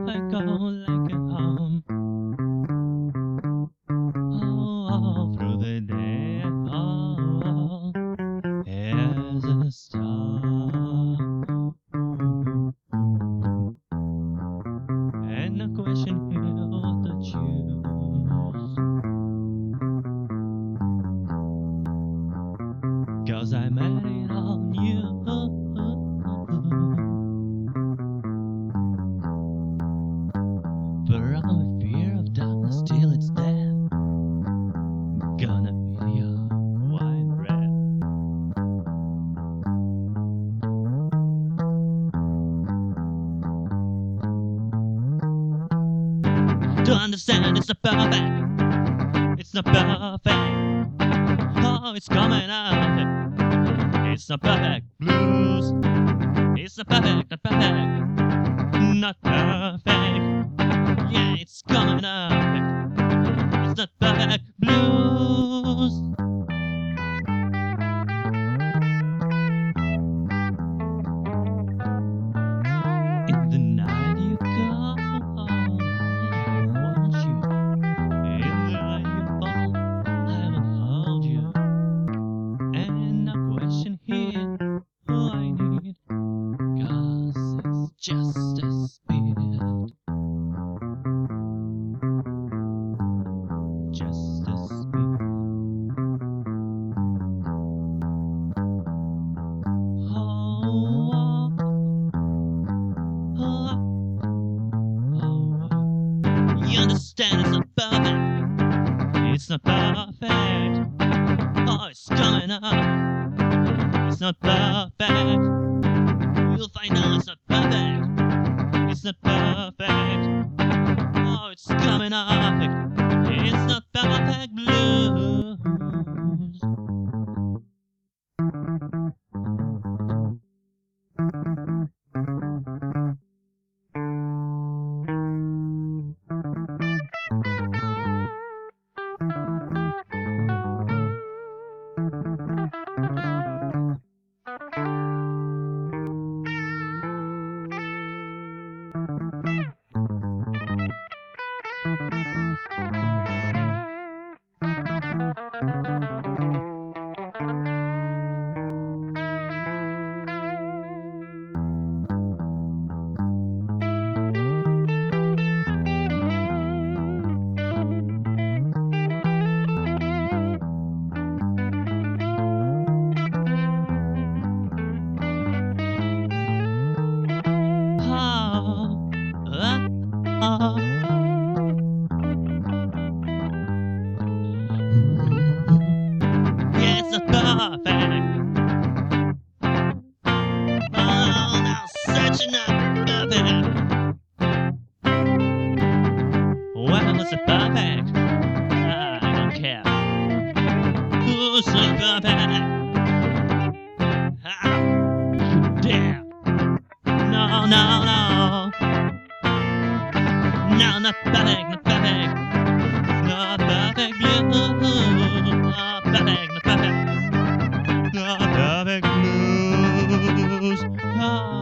I go like a home. All through the day, all as a star. And the question here, what to choose? 'Cause I made it on you. From a fear of darkness till it's dead, gonna feel your wine red. To understand it's not perfect, it's not perfect. Oh, it's coming up. It's not perfect blues. It's not perfect, not perfect, not perfect. Yeah, it's coming up. It's not perfect blues. In the night you call, I want you. In the night you fall, I will hold you. And no question here who I need, 'cause it's just a spirit. Just a spirit. Oh, oh, oh. You understand it's not perfect. It's not perfect. Oh, it's coming up. It's not perfect. You'll find out it's not perfect. It's not perfect. Oh, it's coming up. It's not perfect blues. Yeah, it's not perfect. Oh, now searching up perfect. Well, is it perfect? I don't care. Who's like perfect? How you dare? No, no, no. No, not perfect, not perfect. Not perfect blues. Not perfect, not perfect. Not perfect blues. Oh.